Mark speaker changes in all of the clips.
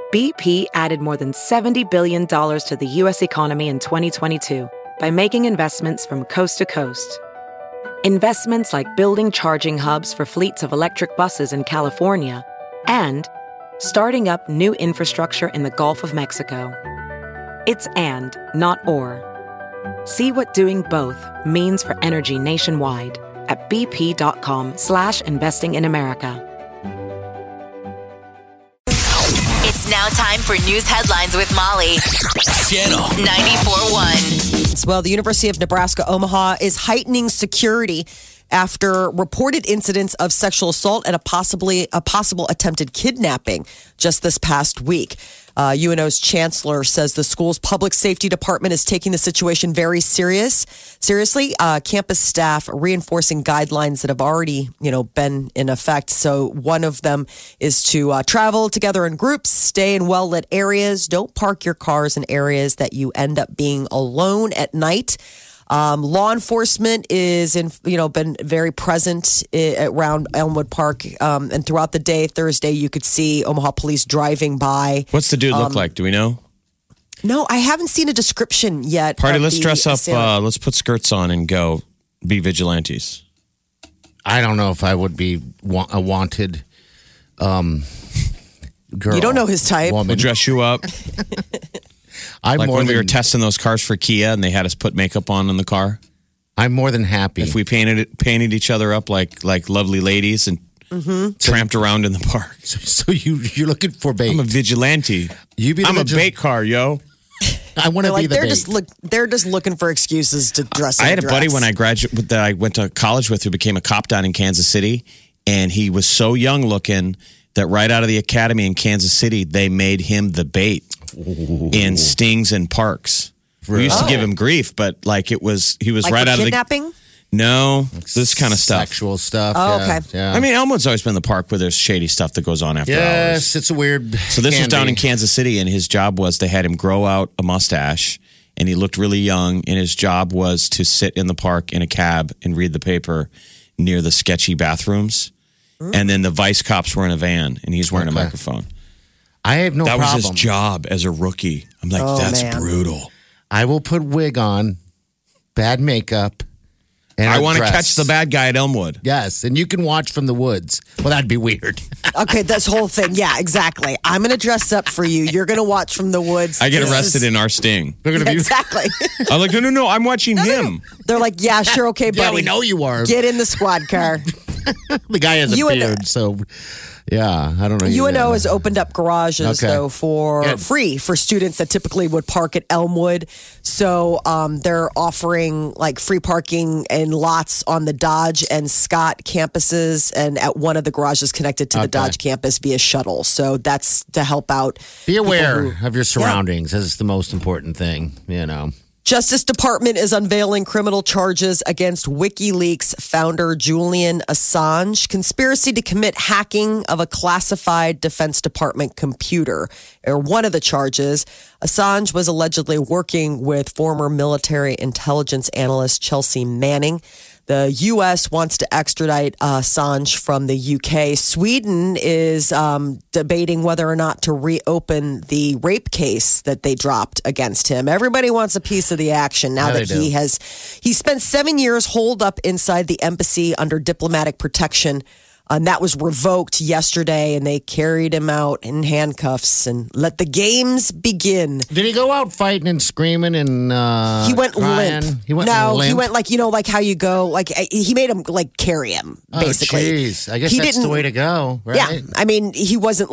Speaker 1: BP added more than $70 billion to the U.S. economy in 2022 by making investments from coast to coast. Investments like building charging hubs for fleets of electric buses in California and starting up new infrastructure in the Gulf of Mexico. It's and, not or. See what doing both means for energy nationwide at bp.com/investing in America.
Speaker 2: It's now time for news headlines with Molly. Channel 94.1.
Speaker 3: Well, the University of Nebraska Omaha is heightening security after reported incidents of sexual assault and a possible attempted kidnapping just this past week. UNO's chancellor says the school's public safety department is taking the situation very seriously. Campus staff reinforcing guidelines that have already, been in effect. So one of them is to travel together in groups, stay in well-lit areas, don't park your cars in areas that you end up being alone at night. Law enforcement is been very present around Elmwood Park, and throughout the day, Thursday, you could see Omaha police driving by.
Speaker 4: What's the dude look like? Do we know?
Speaker 3: No, I haven't seen a description yet.
Speaker 4: Party, let's dress up. Let's put skirts on and go be vigilantes.
Speaker 5: I don't know if I would be a wanted girl.
Speaker 3: You don't know his type.
Speaker 4: We'll dress you up. Like when we were testing those cars for Kia and they had us put makeup on in the car.
Speaker 5: I'm more than happy.
Speaker 4: If we painted each other up like lovely ladies and tramped around in the park.
Speaker 5: So you're looking for bait.
Speaker 4: I'm a vigilante. I'm a bait car, yo.
Speaker 5: I want to be the bait.
Speaker 3: They're just looking for excuses to dress.
Speaker 4: I had a buddy when I graduated that I went to college with who became a cop down in Kansas City, and he was so young looking that right out of the academy in Kansas City, they made him the bait. In stings and parks. We used to give him grief, but he was
Speaker 3: like
Speaker 4: right out of the
Speaker 3: kidnapping?
Speaker 4: No, this kind of stuff.
Speaker 5: Sexual stuff.
Speaker 3: Oh, okay.
Speaker 5: Yeah.
Speaker 4: I mean, Elmwood's always been the park where there's shady stuff that goes on after hours.
Speaker 5: Yes, it's a weird.
Speaker 4: So this was down in Kansas City, and his job was they had him grow out a mustache, and he looked really young, and his job was to sit in the park in a cab and read the paper near the sketchy bathrooms. And then the vice cops were in a van, and he's wearing a microphone.
Speaker 5: I have no problem.
Speaker 4: That was his job as a rookie. I'm like, that's brutal.
Speaker 5: I will put wig on, bad makeup, and
Speaker 4: I want to catch the bad guy at Elmwood.
Speaker 5: Yes, and you can watch from the woods. Well, that'd be weird.
Speaker 3: Okay, this whole thing. Yeah, exactly. I'm going to dress up for you. You're going to watch from the woods.
Speaker 4: I get arrested in our sting.
Speaker 5: They're going to be
Speaker 3: exactly.
Speaker 4: I'm like, no, I'm watching him.
Speaker 3: They're like, yeah, sure, okay, buddy.
Speaker 5: Yeah, we know you are.
Speaker 3: Get in the squad car.
Speaker 5: The guy has a beard, so... Yeah, I don't know.
Speaker 3: UNO has opened up garages, though, for free for students that typically would park at Elmwood. So they're offering free parking in lots on the Dodge and Scott campuses and at one of the garages connected to the Dodge campus via shuttle. So that's to help out.
Speaker 5: Be aware of your surroundings. That's the most important thing,
Speaker 3: Justice Department is unveiling criminal charges against WikiLeaks founder Julian Assange. Conspiracy to commit hacking of a classified Defense Department computer are one of the charges. Assange was allegedly working with former military intelligence analyst Chelsea Manning. The U.S. wants to extradite Assange from the U.K. Sweden is debating whether or not to reopen the rape case that they dropped against him. Everybody wants a piece of the action now that he spent 7 years holed up inside the embassy under diplomatic protection. And that was revoked yesterday, and they carried him out in handcuffs and let the games begin.
Speaker 5: Did he go out fighting and screaming and
Speaker 3: he went
Speaker 5: crying?
Speaker 3: limp.
Speaker 5: He went
Speaker 3: limp.
Speaker 5: He
Speaker 3: went how you go. He made him carry him basically.
Speaker 5: Jeez, I guess that's the way to go, right?
Speaker 3: Yeah, I mean, he wasn't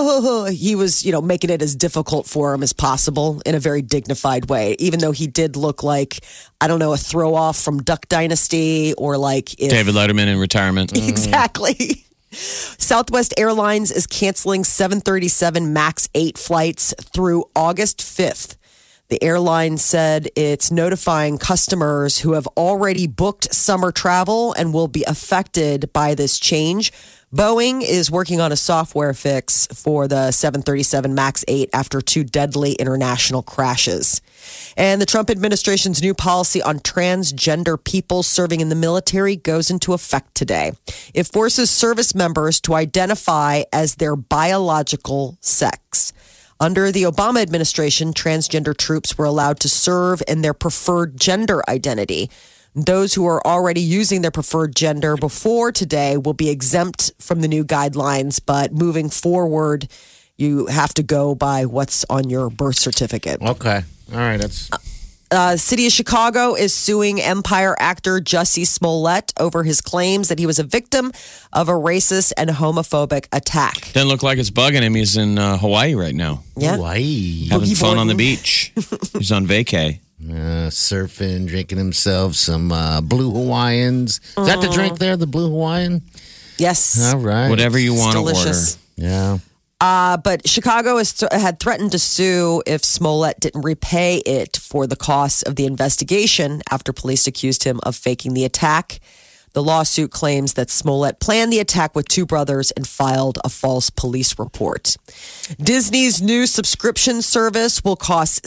Speaker 3: he was making it as difficult for him as possible in a very dignified way. Even though he did look like a throw off from Duck Dynasty or
Speaker 4: David Letterman in retirement.
Speaker 3: Exactly. Southwest Airlines is canceling 737 MAX 8 flights through August 5th. The airline said it's notifying customers who have already booked summer travel and will be affected by this change. Boeing is working on a software fix for the 737 MAX 8 after 2 deadly international crashes. And the Trump administration's new policy on transgender people serving in the military goes into effect today. It forces service members to identify as their biological sex. Under the Obama administration, transgender troops were allowed to serve in their preferred gender identity. Those who are already using their preferred gender before today will be exempt from the new guidelines, but moving forward, you have to go by what's on your birth certificate.
Speaker 5: Okay. All right. That's.
Speaker 3: City of Chicago is suing Empire actor Jussie Smollett over his claims that he was a victim of a racist and homophobic attack.
Speaker 4: Doesn't look like it's bugging him. He's in Hawaii right now.
Speaker 3: Yeah.
Speaker 5: Hawaii.
Speaker 4: Having
Speaker 3: Boogie
Speaker 4: fun on the
Speaker 3: boarding.
Speaker 4: beach. He's on vacay.
Speaker 5: Surfing, drinking himself some Blue Hawaiians. Is that the drink there, the Blue Hawaiian?
Speaker 3: Yes.
Speaker 5: All right.
Speaker 4: Whatever you want to order.
Speaker 3: Delicious.
Speaker 5: Yeah.
Speaker 3: But Chicago had threatened to sue if Smollett didn't repay it for the costs of the investigation after police accused him of faking the attack. The lawsuit claims that Smollett planned the attack with two brothers and filed a false police report. Disney's new subscription service will cost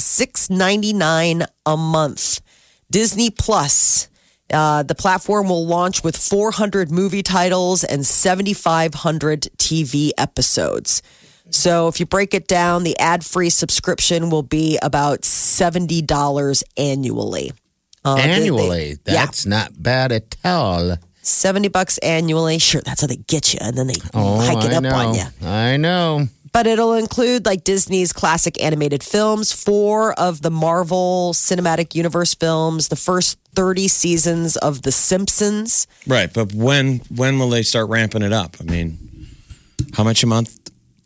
Speaker 3: $6.99 a month. Disney Plus. The platform will launch with 400 movie titles and 7,500 TV episodes. So if you break it down, the ad-free subscription will be about $70 annually.
Speaker 5: Annually? That's not bad at all.
Speaker 3: $70 annually. Sure, that's how they get you. And then they hike it up on you.
Speaker 5: I know.
Speaker 3: But it'll include like Disney's classic animated films, 4 of the Marvel Cinematic Universe films, the first 30 seasons of The Simpsons.
Speaker 4: Right, but when will they start ramping it up? I mean, how much a month?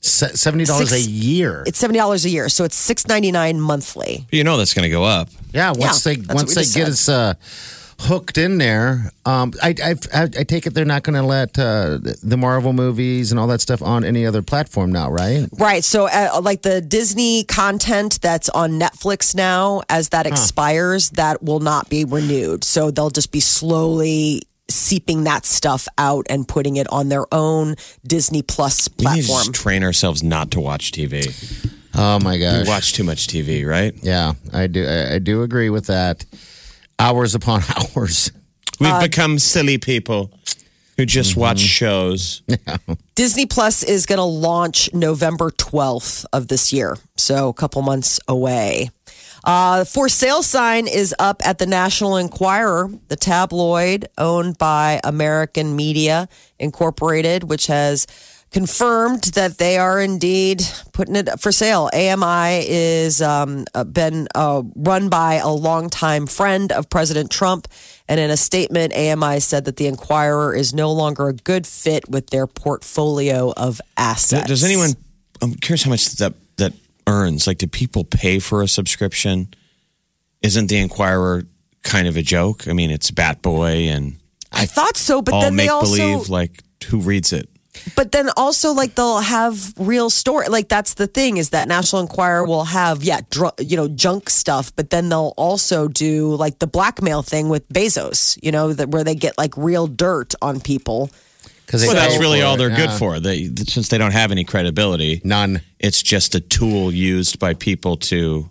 Speaker 5: $70 a year.
Speaker 3: It's $70 a year, so it's $6.99 monthly.
Speaker 4: You know that's going to go up.
Speaker 5: Yeah, once
Speaker 3: Yeah,
Speaker 5: they
Speaker 3: that's what we just
Speaker 5: get
Speaker 3: said.
Speaker 5: us hooked in there, I take it they're not going to let the Marvel movies and all that stuff on any other platform now, right?
Speaker 3: Right. So, like the Disney content that's on Netflix now, as that expires, that will not be renewed. So they'll just be slowly seeping that stuff out and putting it on their own Disney Plus
Speaker 4: We need to
Speaker 3: platform.
Speaker 4: just train ourselves not to watch TV.
Speaker 5: Oh my gosh.
Speaker 4: We watch too much TV, right?
Speaker 5: Yeah, I do. I do agree with that. Hours upon hours.
Speaker 4: We've become silly people who just watch shows.
Speaker 3: Disney Plus is going to launch November 12th of this year, so a couple months away. For sale sign is up at the National Enquirer, the tabloid owned by American Media Incorporated, which has confirmed that they are indeed putting it up for sale. AMI is been run by a longtime friend of President Trump. And in a statement, AMI said that the Enquirer is no longer a good fit with their portfolio of assets.
Speaker 4: Does anyone? I'm curious how much that earns. Like, do people pay for a subscription? Isn't the Enquirer kind of a joke? I mean, it's Bat Boy and
Speaker 3: I thought so, but
Speaker 4: all
Speaker 3: then they
Speaker 4: make
Speaker 3: also
Speaker 4: believe. Like, who reads it?
Speaker 3: But then also, like, they'll have real story. Like, that's the thing is that National Enquirer will have, junk stuff. But then they'll also do, like, the blackmail thing with Bezos, where they get, like, real dirt on people.
Speaker 4: Well, that's really all they're good for. Since they don't have any credibility.
Speaker 5: None.
Speaker 4: It's just a tool used by people to,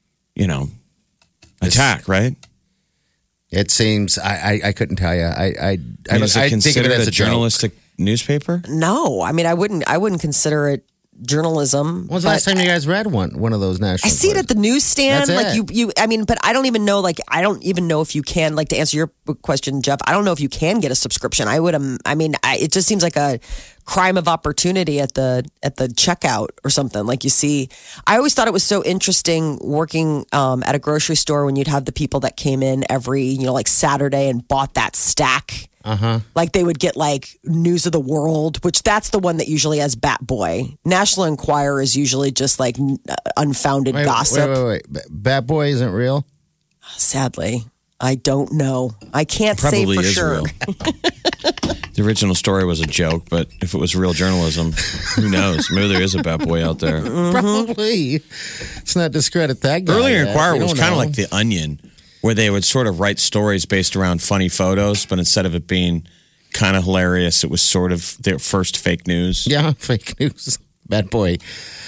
Speaker 4: attack, right?
Speaker 5: It seems, I couldn't tell you. I
Speaker 4: Is it
Speaker 5: think of
Speaker 4: considered
Speaker 5: it as
Speaker 4: a journalistic newspaper?
Speaker 3: No, I mean, I wouldn't consider it journalism.
Speaker 5: When was the last time you guys read one of those national?
Speaker 3: I see it at the newsstand.
Speaker 5: That's
Speaker 3: like you. I mean, but I don't even know. Like, I don't even know if you can. Like, to answer your question, Jeff, I don't know if you can get a subscription. It just seems like a crime of opportunity at the checkout or something. Like, you see, I always thought it was so interesting working at a grocery store when you'd have the people that came in every like Saturday and bought that stack. Like they would get like News of the World, which that's the one that usually has Bat Boy. National Enquirer is usually just like unfounded gossip.
Speaker 5: Wait. Bat Boy isn't real?
Speaker 3: Sadly, I don't know. I can't
Speaker 4: Probably
Speaker 3: say for
Speaker 4: is
Speaker 3: sure.
Speaker 4: real. The original story was a joke, but if it was real journalism, who knows? Maybe there is a Bat Boy out there.
Speaker 5: Probably. Let's not discredit that guy.
Speaker 4: Earlier Enquirer
Speaker 5: We
Speaker 4: was
Speaker 5: don't
Speaker 4: kind of
Speaker 5: know.
Speaker 4: like The Onion, where they would sort of write stories based around funny photos, but instead of it being kind of hilarious, it was sort of their first fake news.
Speaker 5: Yeah, fake news. Bat Boy.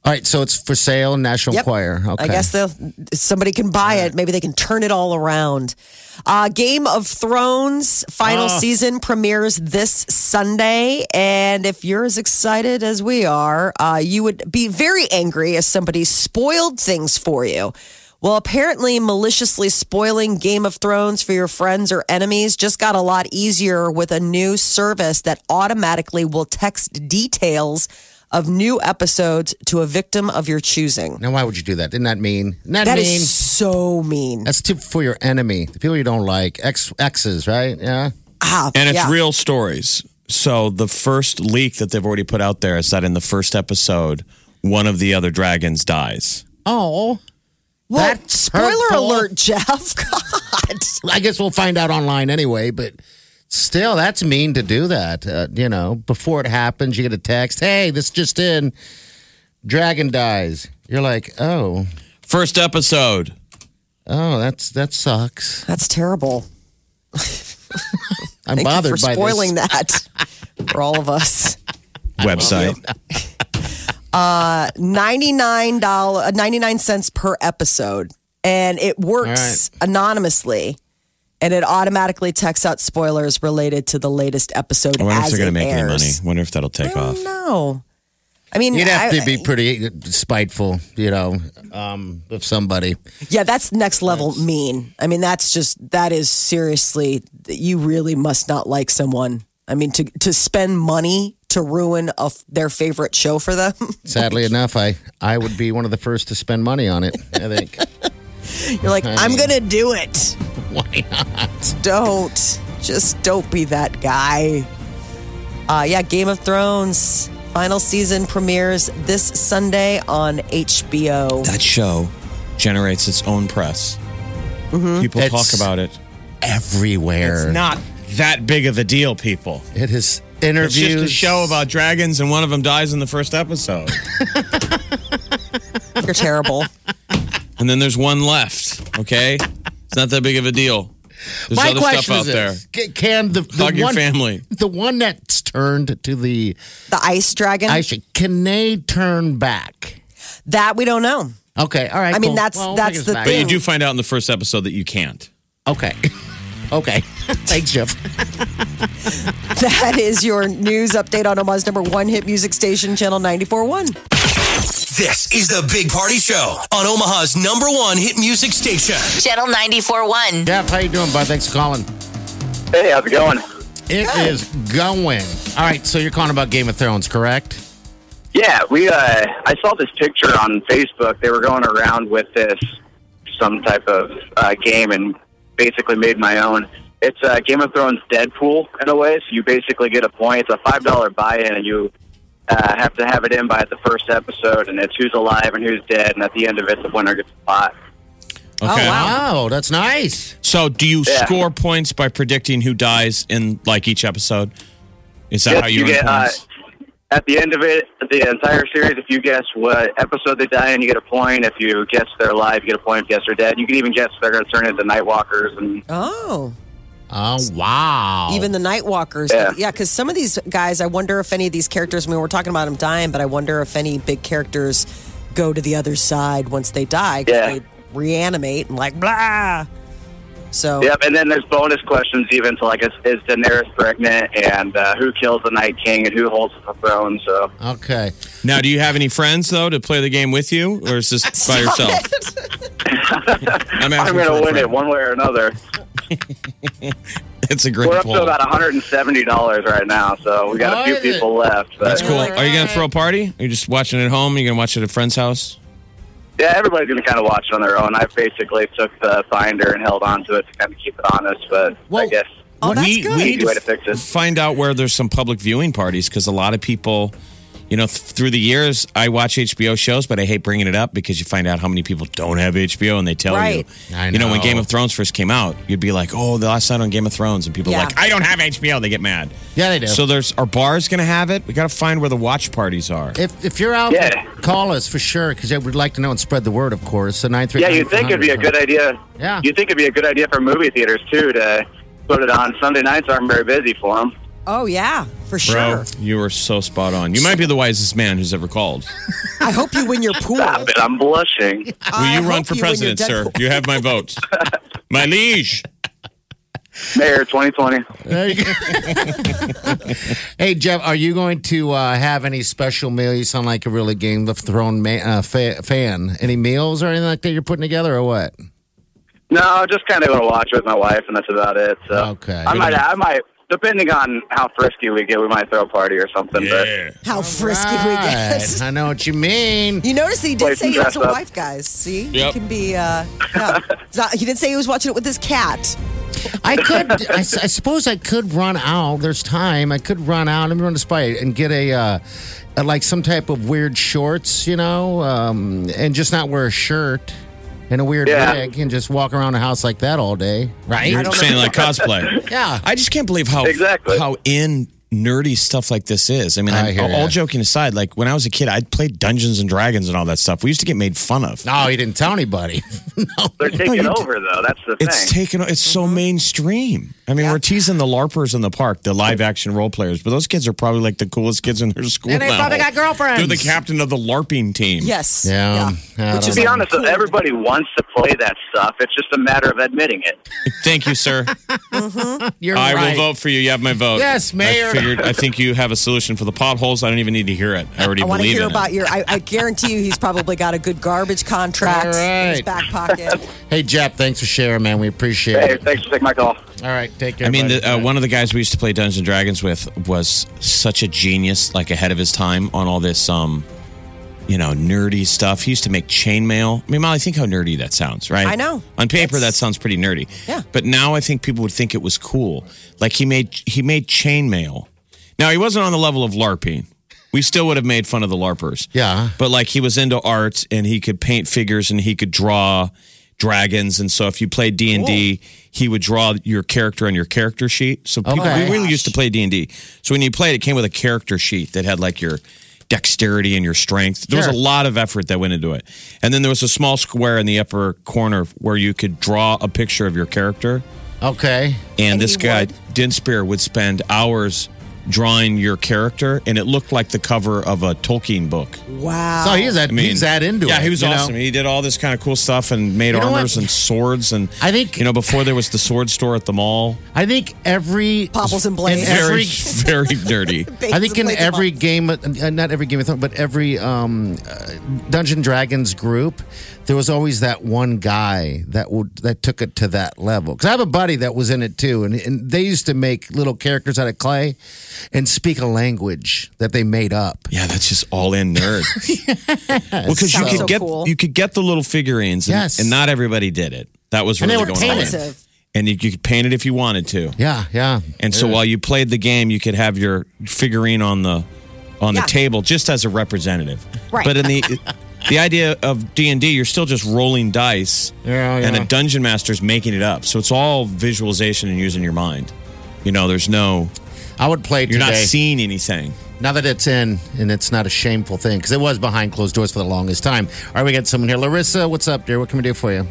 Speaker 5: All right, so it's for sale in National
Speaker 3: Yep.
Speaker 5: Enquirer. Okay.
Speaker 3: I guess somebody can buy it. Maybe they can turn it all around. Game of Thrones final season premieres this Sunday. And if you're as excited as we are, you would be very angry if somebody spoiled things for you. Well, apparently maliciously spoiling Game of Thrones for your friends or enemies just got a lot easier with a new service that automatically will text details of new episodes to a victim of your choosing.
Speaker 5: Now, why would you do that? Isn't that mean? Isn't
Speaker 3: That
Speaker 5: mean?
Speaker 3: is so mean.
Speaker 5: That's tip for your enemy, the people you don't like, exes, right? Yeah.
Speaker 4: And it's
Speaker 3: Yeah.
Speaker 4: real stories. So the first leak that they've already put out there is that in the first episode, one of the other dragons dies.
Speaker 5: Oh.
Speaker 3: Well,
Speaker 5: That's
Speaker 3: spoiler
Speaker 5: hurtful.
Speaker 3: alert, Jeff. God.
Speaker 5: I guess we'll find out online anyway, but still, that's mean to do that. Before it happens, you get a text, hey, this just in, dragon dies. You're like, oh.
Speaker 4: First episode.
Speaker 5: Oh, that sucks.
Speaker 3: That's terrible.
Speaker 5: I'm
Speaker 3: Thank
Speaker 5: bothered
Speaker 3: you for
Speaker 5: by
Speaker 3: spoiling
Speaker 5: this.
Speaker 3: that for all of us.
Speaker 4: Website.
Speaker 3: $99 per episode. And it works anonymously. And it automatically texts out spoilers related to the latest episode.
Speaker 4: I wonder if
Speaker 3: as
Speaker 4: they're going
Speaker 3: it
Speaker 4: to make any money.
Speaker 3: airs.
Speaker 4: Wonder if that'll take off.
Speaker 3: No. I mean,
Speaker 5: You'd have to be pretty spiteful, of somebody.
Speaker 3: Yeah, that's next level mean. I mean, that is seriously, you really must not like someone. I mean, to spend money to ruin their favorite show for them.
Speaker 5: Sadly enough, I would be one of the first to spend money on it, I think.
Speaker 3: You're like, I'm going to do it.
Speaker 5: Why not?
Speaker 3: Don't be that guy. Game of Thrones final season premieres this Sunday on HBO.
Speaker 4: That show generates its own press. People talk about it
Speaker 5: Everywhere.
Speaker 4: It's not that big of a deal, people.
Speaker 5: It is interviews.
Speaker 4: It's just a show about dragons, and one of them dies in the first episode.
Speaker 3: You're terrible.
Speaker 4: And then there's one left, okay? It's not that big of a deal. There's
Speaker 5: My
Speaker 4: other
Speaker 5: question
Speaker 4: stuff out
Speaker 5: is
Speaker 4: there.
Speaker 5: this. Can the
Speaker 4: Hug your
Speaker 5: one,
Speaker 4: family.
Speaker 5: The one that's turned to the
Speaker 3: The ice dragon?
Speaker 5: can they turn back?
Speaker 3: That we don't know.
Speaker 5: Okay, all right.
Speaker 3: I mean,
Speaker 5: cool.
Speaker 3: that's
Speaker 5: Well,
Speaker 3: the
Speaker 5: I guess back.
Speaker 4: But you
Speaker 3: thing.
Speaker 4: do find out in the first episode that you can't.
Speaker 5: Okay. Okay. Thanks, Jeff.
Speaker 3: That is your news update on Omaha's number one hit music station, Channel 94.1.
Speaker 6: This is the Big Party Show on Omaha's number one hit music station.
Speaker 2: Channel 94.1.
Speaker 5: Jeff, how you doing, bud? Thanks for calling.
Speaker 7: Hey, how's it going?
Speaker 5: It is going. All right, so you're calling about Game of Thrones, correct?
Speaker 7: Yeah, I saw this picture on Facebook. They were going around with some type of game and basically made my own. It's Game of Thrones Deadpool in a way. So you basically get a point. It's a $5 buy-in, and you have to have it in by the first episode, and it's who's alive and who's dead. And at the end of it, the winner gets a pot.
Speaker 4: Okay.
Speaker 5: Wow, that's nice.
Speaker 4: So do you
Speaker 7: Yeah.
Speaker 4: score points by predicting who dies in like each episode? Is that
Speaker 7: Yes,
Speaker 4: how you earn
Speaker 7: get
Speaker 4: points?
Speaker 7: at the end of it, the entire series. If you guess what episode they die in, you get a point. If you guess they're alive, you get a point. If you guess they're dead, you can even guess if they're going to turn into Night Walkers. And
Speaker 3: Oh.
Speaker 5: Oh, wow.
Speaker 3: Even the Night Walkers.
Speaker 7: Yeah.
Speaker 3: Because some of these guys, I wonder if any of these characters, I mean, we're talking about them dying, but I wonder if any big characters go to the other side once they die. 'Cause
Speaker 7: Yeah.
Speaker 3: they reanimate and like, blah. So,
Speaker 7: yep, and then there's bonus questions even to like, is Daenerys pregnant, and who kills the Night King, and who holds the throne. So
Speaker 5: Okay.
Speaker 4: Now, do you have any friends though to play the game with you, or is this by yourself? I'm
Speaker 7: I'm going to win it one way or another.
Speaker 4: It's a great
Speaker 7: We're up
Speaker 4: poll.
Speaker 7: to about $170 right now, so we got a few
Speaker 5: Oh, is it?
Speaker 7: people left. But
Speaker 4: That's cool. Are you going to throw a party? Are you just watching it at home? Are you going to watch it at a friend's house?
Speaker 7: yeah, everybody's going to kind of watch it on their own. I basically took the Finder and held on to it to kind of keep it honest, but I
Speaker 5: Well,
Speaker 7: guess
Speaker 3: oh, that's
Speaker 4: we
Speaker 3: good.
Speaker 4: need
Speaker 7: easy way to fix it.
Speaker 4: find out where there's some public viewing parties because a lot of people, through the years, I watch HBO shows, but I hate bringing it up because you find out how many people don't have HBO and they tell
Speaker 3: Right.
Speaker 4: you.
Speaker 5: I
Speaker 4: When
Speaker 5: know.
Speaker 4: Game of Thrones first came out, you'd be like, oh, the last night on Game of Thrones. And people are
Speaker 3: Yeah.
Speaker 4: like, I don't have HBO. They get mad.
Speaker 5: Yeah, they do.
Speaker 4: So are bars going to have it? We got to find where the watch parties are.
Speaker 5: If you're out,
Speaker 7: Yeah.
Speaker 5: call us for sure, because I would like to know and spread the word, of course. So 938.
Speaker 7: Yeah, you'd think it'd be a good idea.
Speaker 5: Yeah.
Speaker 7: You'd think it'd be a good idea for movie theaters, too, to put it on. Sunday nights aren't very busy for them.
Speaker 3: Oh, yeah, for
Speaker 4: Bro,
Speaker 3: sure.
Speaker 4: you are so spot on. You might be the wisest man who's ever called.
Speaker 3: I hope you win your pool.
Speaker 7: Stop it. I'm blushing.
Speaker 4: Will you run for president, sir? You have my vote. My liege.
Speaker 7: Mayor 2020.
Speaker 5: There you go. Hey, Jeff, are you going to have any special meal? You sound like a really Game of Thrones fan. Any meals or anything like that you're putting together or what?
Speaker 7: No, just kind of going to watch with my wife, and that's about it. So
Speaker 5: Okay.
Speaker 7: I might, depending on how frisky we get, we might throw a party or something.
Speaker 4: Yeah.
Speaker 3: How frisky we get.
Speaker 5: I know what you mean.
Speaker 3: You notice that he
Speaker 7: Play
Speaker 3: did say
Speaker 7: some
Speaker 3: he has a
Speaker 7: dress up.
Speaker 3: wife, guys. See?
Speaker 4: Yep.
Speaker 3: He can be, he didn't say he was watching it with his cat.
Speaker 5: I suppose I could run out. There's time. I could run out. Let me run to Spy and get a like some type of weird shorts, and just not wear a shirt and a weird wig and just walk around the house like that all day. Right?
Speaker 4: You're saying like cosplay.
Speaker 5: Yeah.
Speaker 4: I just can't believe how nerdy stuff like this is. I mean,
Speaker 5: I hear
Speaker 4: all
Speaker 5: ya.
Speaker 4: joking aside, like when I was a kid, I'd played Dungeons and Dragons and all that stuff. We used to get made fun of.
Speaker 5: No, he didn't tell anybody.
Speaker 7: They're taking over, though. That's the thing.
Speaker 4: It's so mainstream. I mean, we're teasing the LARPers in the park, the live action role players, but those kids are probably like the coolest kids in their school
Speaker 5: And they
Speaker 4: now.
Speaker 5: probably got girlfriends.
Speaker 4: They're the captain of the LARPing team.
Speaker 3: Yes.
Speaker 5: Yeah.
Speaker 3: Which
Speaker 7: To
Speaker 3: is
Speaker 7: be honest, everybody wants to play that stuff. It's just a matter of admitting it.
Speaker 4: Thank you, sir.
Speaker 5: You're
Speaker 4: I
Speaker 5: right.
Speaker 4: will vote for you. You have my vote.
Speaker 5: Yes, Mayor.
Speaker 4: I think you have a solution for the potholes. I don't even need to hear it. I already
Speaker 3: I want to
Speaker 4: believe
Speaker 3: hear
Speaker 4: in
Speaker 3: about
Speaker 4: it.
Speaker 3: your. I guarantee you, he's probably got a good garbage contract
Speaker 5: All right.
Speaker 3: in his back pocket.
Speaker 5: Hey, Jeff, thanks for sharing, man. We appreciate
Speaker 7: Hey,
Speaker 5: it.
Speaker 7: thanks for taking my call.
Speaker 5: All right, take care.
Speaker 4: I mean,
Speaker 5: buddy.
Speaker 4: one of the guys we used to play Dungeons and Dragons with was such a genius, like ahead of his time on all this, nerdy stuff. He used to make chainmail. I mean, Molly, think how nerdy that sounds, right?
Speaker 3: I know.
Speaker 4: On paper, that sounds pretty nerdy.
Speaker 3: Yeah.
Speaker 4: But now I think people would think it was cool. Like he made chainmail. Now he wasn't on the level of LARPing. We still would have made fun of the LARPers.
Speaker 5: Yeah.
Speaker 4: But like he was into art and he could paint figures and he could draw dragons. And so if you played D&D, he would draw your character on your character sheet. So people,
Speaker 5: Okay.
Speaker 4: we really used to play D&D. So when you played, it came with a character sheet that had like your dexterity and your strength. There was
Speaker 5: Sure.
Speaker 4: a lot of effort that went into it. And then there was a small square in the upper corner where you could draw a picture of your character.
Speaker 5: Okay.
Speaker 4: And this
Speaker 3: he
Speaker 4: guy,
Speaker 3: would?
Speaker 4: Dinspear, would spend hours drawing your character, and it looked like the cover of a Tolkien book.
Speaker 3: Wow.
Speaker 5: So he's that into it.
Speaker 4: Yeah, he was
Speaker 5: you know?
Speaker 4: awesome. He did all this kind of cool stuff and made
Speaker 5: You know
Speaker 4: armors
Speaker 5: what?
Speaker 4: and swords. And
Speaker 5: I think-
Speaker 4: before there was the sword store at the mall.
Speaker 5: I think every
Speaker 3: Popples and blades.
Speaker 5: in
Speaker 4: Very,
Speaker 5: every
Speaker 4: very dirty.
Speaker 5: I think in every game, not every Game of Thrones, but every Dungeon Dragons group, there was always that one guy that took it to that level. Because I have a buddy that was in it too, and they used to make little characters out of clay and speak a language that they made up.
Speaker 4: Yeah, that's just all in nerd. Well, because you
Speaker 3: Sounds
Speaker 4: could
Speaker 3: so
Speaker 4: get
Speaker 3: cool.
Speaker 4: you could get the little figurines, and,
Speaker 5: Yes.
Speaker 4: and not everybody did it. That was
Speaker 5: And
Speaker 4: really
Speaker 5: they were
Speaker 4: going on.
Speaker 5: painted.
Speaker 3: Expensive.
Speaker 4: And you could paint it if you wanted to.
Speaker 5: Yeah, yeah.
Speaker 4: And so while you played the game, you could have your figurine on the
Speaker 3: Yeah.
Speaker 4: table just as a representative.
Speaker 3: Right.
Speaker 4: But in the idea of D&D, you're still just rolling dice,
Speaker 5: Yeah,
Speaker 4: and
Speaker 5: yeah.
Speaker 4: a dungeon master's making it up. So it's all visualization and using your mind. There's no
Speaker 5: I would play
Speaker 4: you're
Speaker 5: today.
Speaker 4: not seeing anything.
Speaker 5: Now that it's in, and it's not a shameful thing, because it was behind closed doors for the longest time. All right, we got someone here. Larissa, what's up, dear? What can we do for you?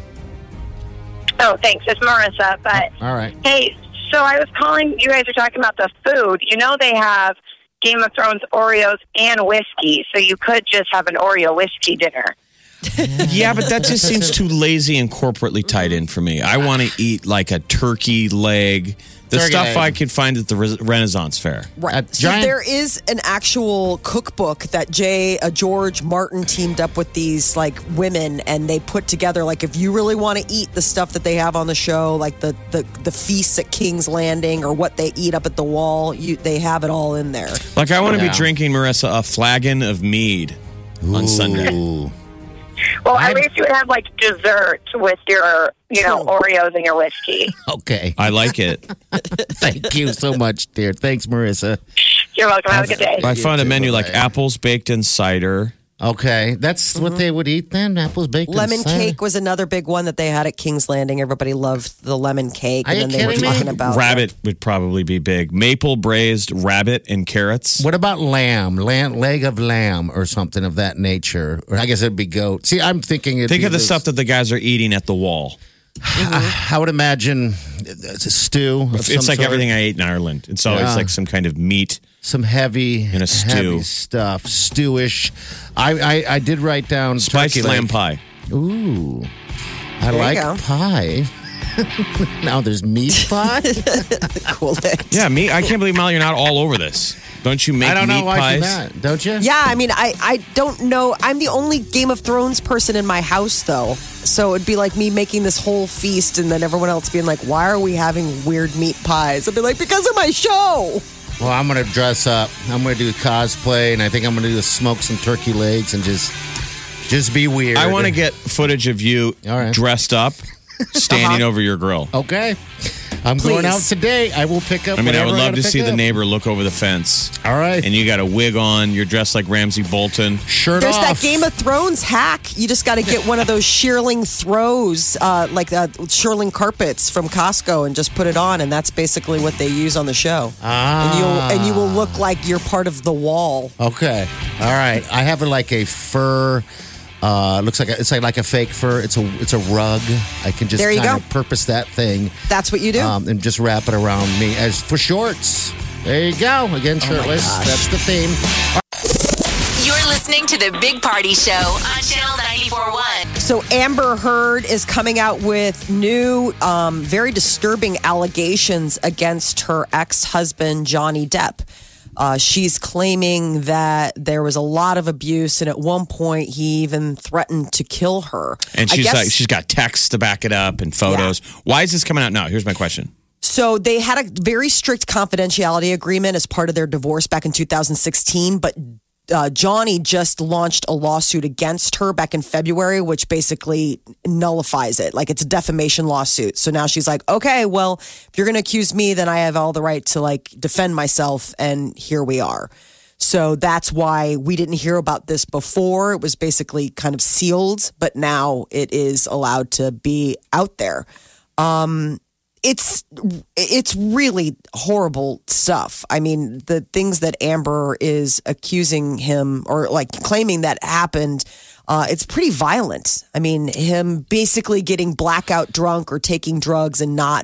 Speaker 8: Oh, thanks. It's Marissa. But
Speaker 5: All right.
Speaker 8: hey, so I was calling. You guys are talking about the food. They have Game of Thrones Oreos and whiskey, so you could just have an Oreo whiskey dinner.
Speaker 4: Yeah, but that just seems too lazy and corporately tied in for me. I want to eat like a turkey leg, the
Speaker 5: Turkey
Speaker 4: stuff
Speaker 5: leg.
Speaker 4: I could find at the Renaissance Fair.
Speaker 3: Right.
Speaker 5: A
Speaker 3: So
Speaker 5: giant-
Speaker 3: there is an actual cookbook that George Martin teamed up with these like women, and they put together like if you really want to eat the stuff that they have on the show, like the feasts at King's Landing or what they eat up at the wall, they have it all in there.
Speaker 4: Like I want to
Speaker 5: Yeah.
Speaker 4: be drinking, Marissa, a flagon of mead on Sunday.
Speaker 5: Ooh.
Speaker 8: Well, at least you would have like dessert with your, Oreos and your whiskey.
Speaker 5: Okay.
Speaker 4: I like it.
Speaker 5: Thank you so much, dear. Thanks, Marissa.
Speaker 8: You're welcome. Have a good day.
Speaker 4: I found a
Speaker 5: too,
Speaker 4: menu like
Speaker 5: bye-bye.
Speaker 4: apples baked in cider.
Speaker 5: Okay. That's what they would eat then? Apples, bacon,
Speaker 3: Lemon
Speaker 5: cider?
Speaker 3: cake was another big one that they had at King's Landing. Everybody loved the lemon cake,
Speaker 5: Are
Speaker 3: and
Speaker 5: you
Speaker 3: then they were
Speaker 5: kidding me?
Speaker 3: talking about
Speaker 4: Rabbit would probably be big. Maple braised rabbit and carrots.
Speaker 5: What about lamb? Leg of lamb or something of that nature? Or I guess it'd be goat. See, I'm thinking...
Speaker 4: Think of the stuff that the guys are eating at the wall.
Speaker 5: I would imagine it's a stew.
Speaker 4: It's like everything I ate in Ireland. It's always like some kind of meat.
Speaker 5: Some heavy
Speaker 4: in a stew
Speaker 5: heavy stuff, stewish. I did write down
Speaker 4: spiced lamb pie.
Speaker 5: Ooh, I like pie. Now there's meat pie.
Speaker 3: Cool.
Speaker 4: Yeah, meat. I can't believe, Molly, you're not all over this. Don't you make meat pies?
Speaker 5: Don't you?
Speaker 3: Yeah, I mean, I don't know. I'm the only Game of Thrones person in my house, though. So it'd be like me making this whole feast and then everyone else being like, why are we having weird meat pies? I'd be like, because of my show.
Speaker 5: Well, I'm going to dress up. I'm going to do cosplay, and I think I'm going to do smoke some turkey legs and just be weird.
Speaker 4: I want to get footage of you dressed up, standing over your grill.
Speaker 5: Okay. I'm going out today. I will pick up.
Speaker 4: I would love to see the neighbor look over the fence.
Speaker 5: All right.
Speaker 4: And you got a wig on. You're dressed like Ramsay Bolton.
Speaker 5: Shirt
Speaker 3: There's
Speaker 5: off.
Speaker 3: that Game of Thrones hack. You just got to get one of those shearling throws, shearling carpets from Costco, and just put it on, and that's basically what they use on the show. And you will look like you're part of the wall.
Speaker 5: Okay. All right. I have like a fur. Looks like it's like a fake fur. It's a rug. I can just kind of purpose that thing.
Speaker 3: That's what you do.
Speaker 5: And just wrap it around me as for shorts. There you go. Again, shirtless. That's the theme.
Speaker 2: You're listening to the Big Party Show on Channel 94.1.
Speaker 3: So Amber Heard is coming out with new, very disturbing allegations against her ex-husband, Johnny Depp. She's claiming that there was a lot of abuse, and at one point he even threatened to kill her.
Speaker 4: And she's got texts to back it up and photos. Yeah. Why is this coming out now? Here's my question.
Speaker 3: So they had a very strict confidentiality agreement as part of their divorce back in 2016, but Johnny just launched a lawsuit against her back in February, which basically nullifies it. Like, it's a defamation lawsuit. So now she's like, okay, well, if you're going to accuse me, then I have all the right to defend myself. And here we are. So that's why we didn't hear about this before. It was basically kind of sealed, but now it is allowed to be out there. It's really horrible stuff. I mean, the things that Amber is accusing him or claiming that happened, it's pretty violent. I mean, him basically getting blackout drunk or taking drugs and not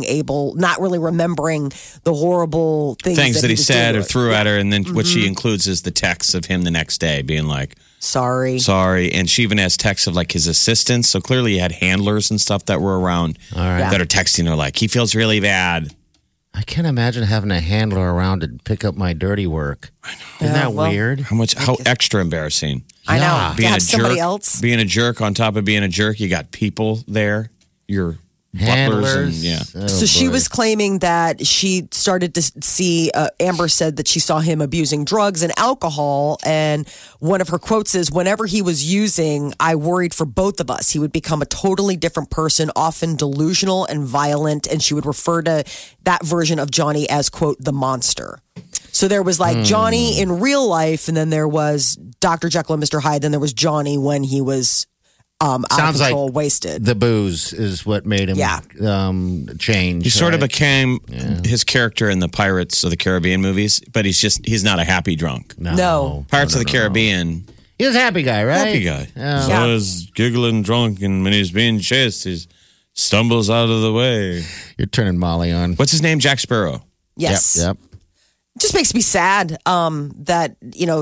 Speaker 3: really remembering the horrible things
Speaker 4: that he said or threw at her. And then what she includes is the texts of him the next day being like,
Speaker 3: Sorry.
Speaker 4: And she even has texts of his assistants. So clearly he had handlers and stuff that were around that are texting her like, he feels really bad.
Speaker 5: I can't imagine having a handler around to pick up my dirty work. I know. Isn't that weird?
Speaker 4: How extra embarrassing.
Speaker 3: I know.
Speaker 4: Being a
Speaker 3: somebody
Speaker 4: jerk,
Speaker 3: else.
Speaker 4: Being a jerk on top of being a jerk, you got people there. Your
Speaker 5: handlers.
Speaker 3: So she was claiming that she started to see, Amber said that she saw him abusing drugs and alcohol. And one of her quotes is, whenever he was using, I worried for both of us. He would become a totally different person, often delusional and violent. And she would refer to that version of Johnny as, quote, the monster. So there was Johnny in real life, and then there was Dr. Jekyll and Mr. Hyde. Then there was Johnny when he was out of control, wasted.
Speaker 5: The booze is what made him change.
Speaker 4: He sort of became his character in the Pirates of the Caribbean movies, but he's not a happy drunk.
Speaker 3: No.
Speaker 4: Pirates of the Caribbean.
Speaker 5: He's a happy guy, right?
Speaker 4: Happy guy. So he's giggling drunk, and when he's being chased, he stumbles out of the way.
Speaker 5: You're turning Molly on.
Speaker 4: What's his name? Jack Sparrow.
Speaker 3: Yes.
Speaker 5: Yep.
Speaker 3: It just makes me sad that,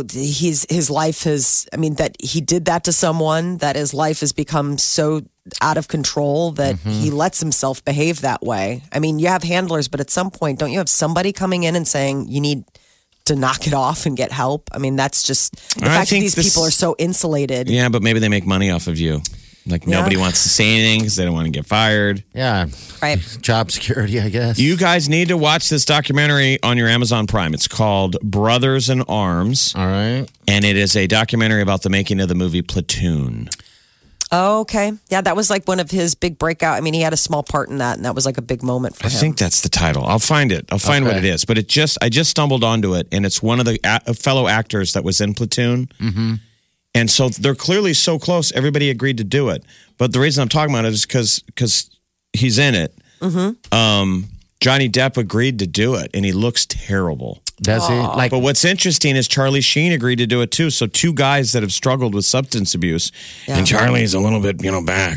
Speaker 3: his life that he did that to someone, that his life has become so out of control that he lets himself behave that way. I mean, you have handlers, but at some point, don't you have somebody coming in and saying you need to knock it off and get help? I mean, that's just the fact that these people are so insulated.
Speaker 4: Yeah, but maybe they make money off of you. Nobody wants to say anything because they don't want to get fired.
Speaker 5: Yeah.
Speaker 3: Right.
Speaker 5: Job security, I guess.
Speaker 4: You guys need to watch this documentary on your Amazon Prime. It's called Brothers in Arms.
Speaker 5: All right.
Speaker 4: And it is a documentary about the making of the movie Platoon.
Speaker 3: Oh, okay. Yeah, that was one of his big breakout. I mean, he had a small part in that, and that was a big moment for him.
Speaker 4: I think that's the title. I'll find it. I'll find what it is. But I just stumbled onto it, and it's one of the fellow actors that was in Platoon. Mm-hmm. And so they're clearly so close. Everybody agreed to do it. But the reason I'm talking about it is because he's in it. Mm-hmm. Johnny Depp agreed to do it, and he looks terrible.
Speaker 5: Does he?
Speaker 4: But what's interesting is Charlie Sheen agreed to do it too. So two guys that have struggled with substance abuse, and Charlie's a little bit, back.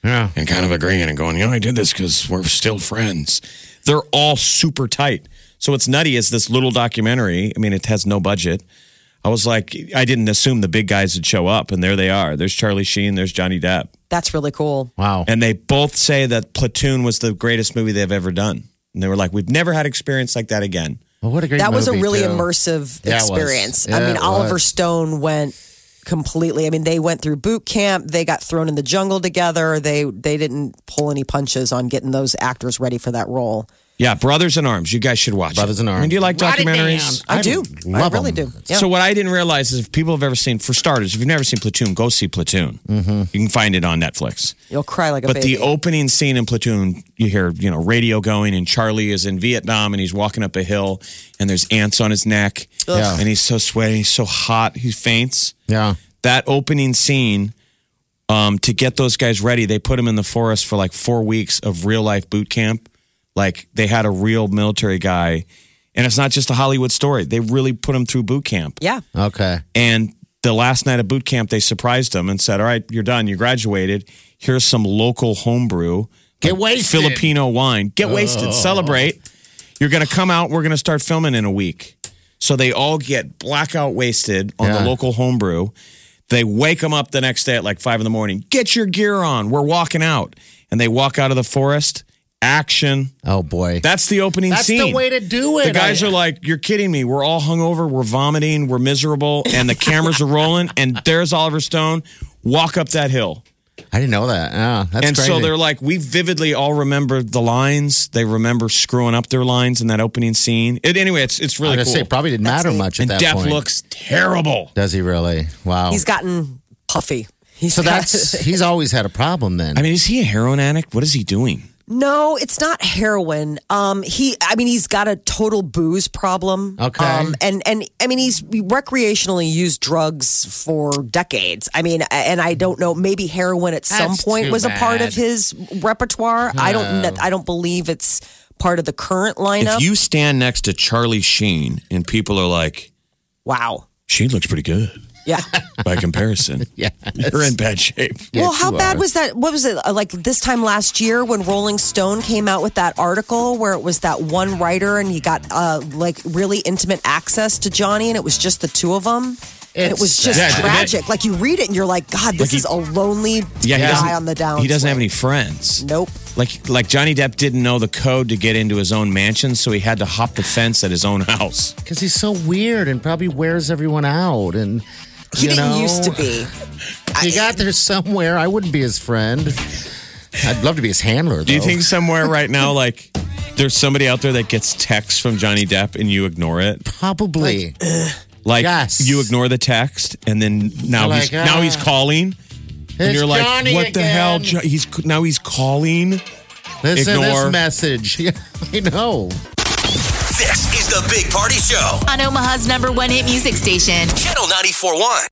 Speaker 5: Yeah.
Speaker 4: and kind of agreeing and going, I did this because we're still friends. They're all super tight. So what's nutty is this little documentary. I mean, it has no budget. I was like, I didn't assume the big guys would show up, and there they are. There's Charlie Sheen, there's Johnny Depp.
Speaker 3: That's really cool.
Speaker 5: Wow.
Speaker 4: And they both say that Platoon was the greatest movie they've ever done. And they were like, we've never had experience like that again.
Speaker 5: Well, what a great
Speaker 3: That was a
Speaker 5: movie,
Speaker 3: really
Speaker 5: too.
Speaker 3: immersive
Speaker 5: Yeah, it was.
Speaker 3: experience.
Speaker 5: Yeah,
Speaker 3: I mean,
Speaker 5: it
Speaker 3: Oliver
Speaker 5: was.
Speaker 3: Stone went completely. I mean, they went through boot camp. They got thrown in the jungle together. They didn't pull any punches on getting those actors ready for that role.
Speaker 4: Yeah, Brothers in Arms. You guys should watch
Speaker 5: Brothers
Speaker 4: it.
Speaker 5: in Arms.
Speaker 4: I mean, do you like
Speaker 5: Write it
Speaker 4: documentaries?
Speaker 5: down.
Speaker 3: I do. I
Speaker 5: love
Speaker 3: really
Speaker 5: them.
Speaker 3: do. Yeah.
Speaker 4: So what I didn't realize is if people have ever seen, for starters, if you've never seen Platoon, go see Platoon. Mm-hmm. You can find it on Netflix.
Speaker 3: You'll cry like a
Speaker 4: But
Speaker 3: baby.
Speaker 4: the opening scene in Platoon, you hear, radio going, and Charlie is in Vietnam, and he's walking up a hill, and there's ants on his neck,
Speaker 5: Yeah.
Speaker 4: and he's so sweaty, he's so hot, he faints.
Speaker 5: Yeah.
Speaker 4: That opening scene, to get those guys ready, they put him in the forest for like 4 weeks of real life boot camp. Like they had a real military guy, and it's not just a Hollywood story. They really put him through boot camp.
Speaker 3: yeah.
Speaker 5: Okay.
Speaker 4: And the last night of boot camp, they surprised him and said, all right, you're done. You graduated. Here's some local homebrew.
Speaker 5: Get wasted.
Speaker 4: Filipino wine. Get wasted. Celebrate. You're going to come out. We're going to start filming in a week. So they all get blackout wasted on the
Speaker 5: Yeah.
Speaker 4: local homebrew. They wake them up the next day at like 5 a.m. Get your gear on. We're walking out. And they walk out of the forest. Action.
Speaker 5: Oh, boy.
Speaker 4: That's the opening
Speaker 5: That's
Speaker 4: scene.
Speaker 5: the way to do it.
Speaker 4: The guys are like, you're kidding me. We're all hungover. We're vomiting. We're miserable. And the cameras are rolling. And there's Oliver Stone. Walk up that hill.
Speaker 5: I didn't know that. Yeah, that's
Speaker 4: And
Speaker 5: crazy.
Speaker 4: so they're like, we vividly all remember the lines. They remember screwing up their lines in that opening scene. Anyway, it's
Speaker 5: I was
Speaker 4: really
Speaker 5: going to
Speaker 4: cool.
Speaker 5: say, probably didn't matter
Speaker 3: neat.
Speaker 5: much at
Speaker 4: And
Speaker 5: that
Speaker 4: Depp
Speaker 5: point.
Speaker 4: looks terrible.
Speaker 5: Does he really? Wow.
Speaker 3: He's gotten puffy.
Speaker 5: so he's always had a problem then.
Speaker 4: I mean, is he a heroin addict? What is he doing?
Speaker 3: No, it's not heroin. He's got a total booze problem.
Speaker 5: Okay.
Speaker 3: And I mean, he's recreationally used drugs for decades. I mean, and I don't know, maybe heroin at some
Speaker 5: That's
Speaker 3: point
Speaker 5: too
Speaker 3: was a part
Speaker 5: bad.
Speaker 3: of his repertoire. I don't believe it's part of the current lineup.
Speaker 4: If you stand next to Charlie Sheen and people are like,
Speaker 3: Wow.
Speaker 4: Sheen looks pretty good
Speaker 3: Yeah.
Speaker 4: by comparison.
Speaker 5: Yeah.
Speaker 4: You're in bad shape.
Speaker 3: Well, how
Speaker 5: you
Speaker 3: bad
Speaker 5: are.
Speaker 3: was that? What was it like this time last year when Rolling Stone came out with that article where it was that one writer and he got like really intimate access to Johnny and it was just the two of them? And it was just
Speaker 4: Yeah,
Speaker 3: tragic. Like you read it and you're like, God, this is a lonely
Speaker 4: Yeah, he doesn't,
Speaker 3: guy on the down.
Speaker 4: he doesn't have any friends.
Speaker 3: Nope.
Speaker 4: Like Johnny Depp didn't know the code to get into his own mansion, so he had to hop the fence at his own house.
Speaker 5: Because he's so weird and probably wears everyone out. And
Speaker 3: He
Speaker 5: you
Speaker 3: didn't
Speaker 5: know,
Speaker 3: used to be.
Speaker 5: He got there somewhere. I wouldn't be his friend. I'd love to be his handler, though.
Speaker 4: Do you think somewhere right now, like, there's somebody out there that gets texts from Johnny Depp and you ignore it?
Speaker 5: Probably.
Speaker 4: Like,
Speaker 5: Yes.
Speaker 4: you ignore the text, and then now
Speaker 5: You're
Speaker 4: he's
Speaker 5: like,
Speaker 4: now he's calling, and
Speaker 5: It's
Speaker 4: you're like,
Speaker 5: Johnny
Speaker 4: what the hell?
Speaker 5: again.
Speaker 4: He's calling.
Speaker 5: Listen to
Speaker 4: Ignore.
Speaker 5: this message. Yeah, I know.
Speaker 6: This is the Big Party Show.
Speaker 2: On Omaha's #1 hit music station.
Speaker 6: Channel 94.1.